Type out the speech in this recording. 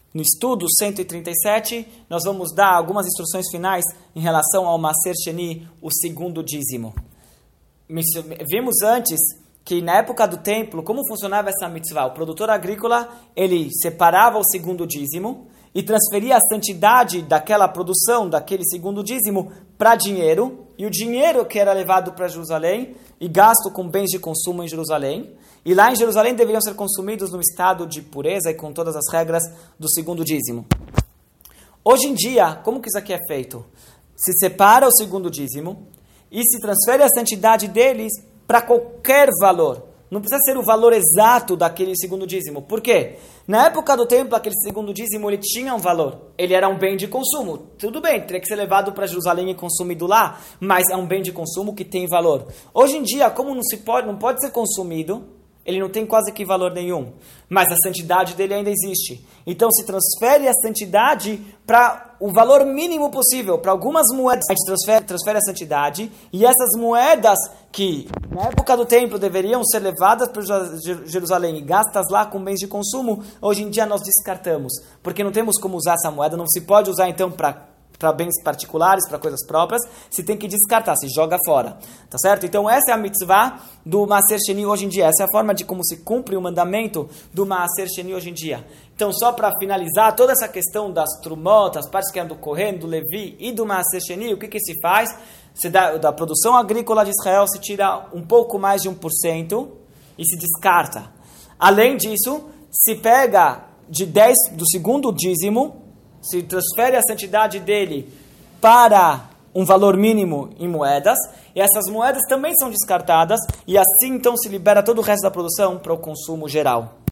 No estudo 137, nós vamos dar algumas instruções finais em relação ao Maaser Sheni, o segundo dízimo. Vimos antes que na época do templo, como funcionava essa mitzvah? O produtor agrícola, ele separava o segundo dízimo e transferia a santidade daquela produção, daquele segundo dízimo, para dinheiro, e o dinheiro que era levado para Jerusalém e gasto com bens de consumo em Jerusalém, e lá em Jerusalém deveriam ser consumidos no estado de pureza e com todas as regras do segundo dízimo. Hoje em dia, como que isso aqui é feito? Se separa o segundo dízimo e se transfere a santidade deles para qualquer valor. Não precisa ser o valor exato daquele segundo dízimo. Por quê? Na época do templo, aquele segundo dízimo ele tinha um valor. Ele era um bem de consumo. Tudo bem, teria que ser levado para Jerusalém e consumido lá, mas é um bem de consumo que tem valor. Hoje em dia, como não pode ser consumido, ele não tem quase que valor nenhum. Mas a santidade dele ainda existe. Então se transfere a santidade para o valor mínimo possível. Para algumas moedas a gente transfere a santidade. E essas moedas que na época do templo deveriam ser levadas para Jerusalém e gastas lá com bens de consumo, hoje em dia nós descartamos. Porque não temos como usar essa moeda. Não se pode usar então para bens particulares, para coisas próprias, se tem que descartar, se joga fora, tá certo? Então essa é a mitzvah do Maaser Sheni hoje em dia, essa é a forma de como se cumpre o mandamento do Maaser Sheni hoje em dia. Então só para finalizar, toda essa questão das trumot, as partes que eram do Kohen, do Levi e do Maaser Sheni, o que se faz? Da produção agrícola de Israel se tira um pouco mais de 1% e se descarta. Além disso, se pega de 10 do segundo dízimo, se transfere a santidade dele para um valor mínimo em moedas, e essas moedas também são descartadas, e assim então se libera todo o resto da produção para o consumo geral.